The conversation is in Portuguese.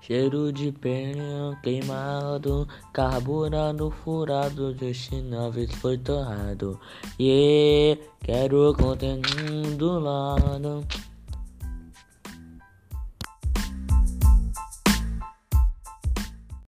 Cheiro de pneu queimado, carburado furado, destinado foi torrado. Quero conteúdo do lado.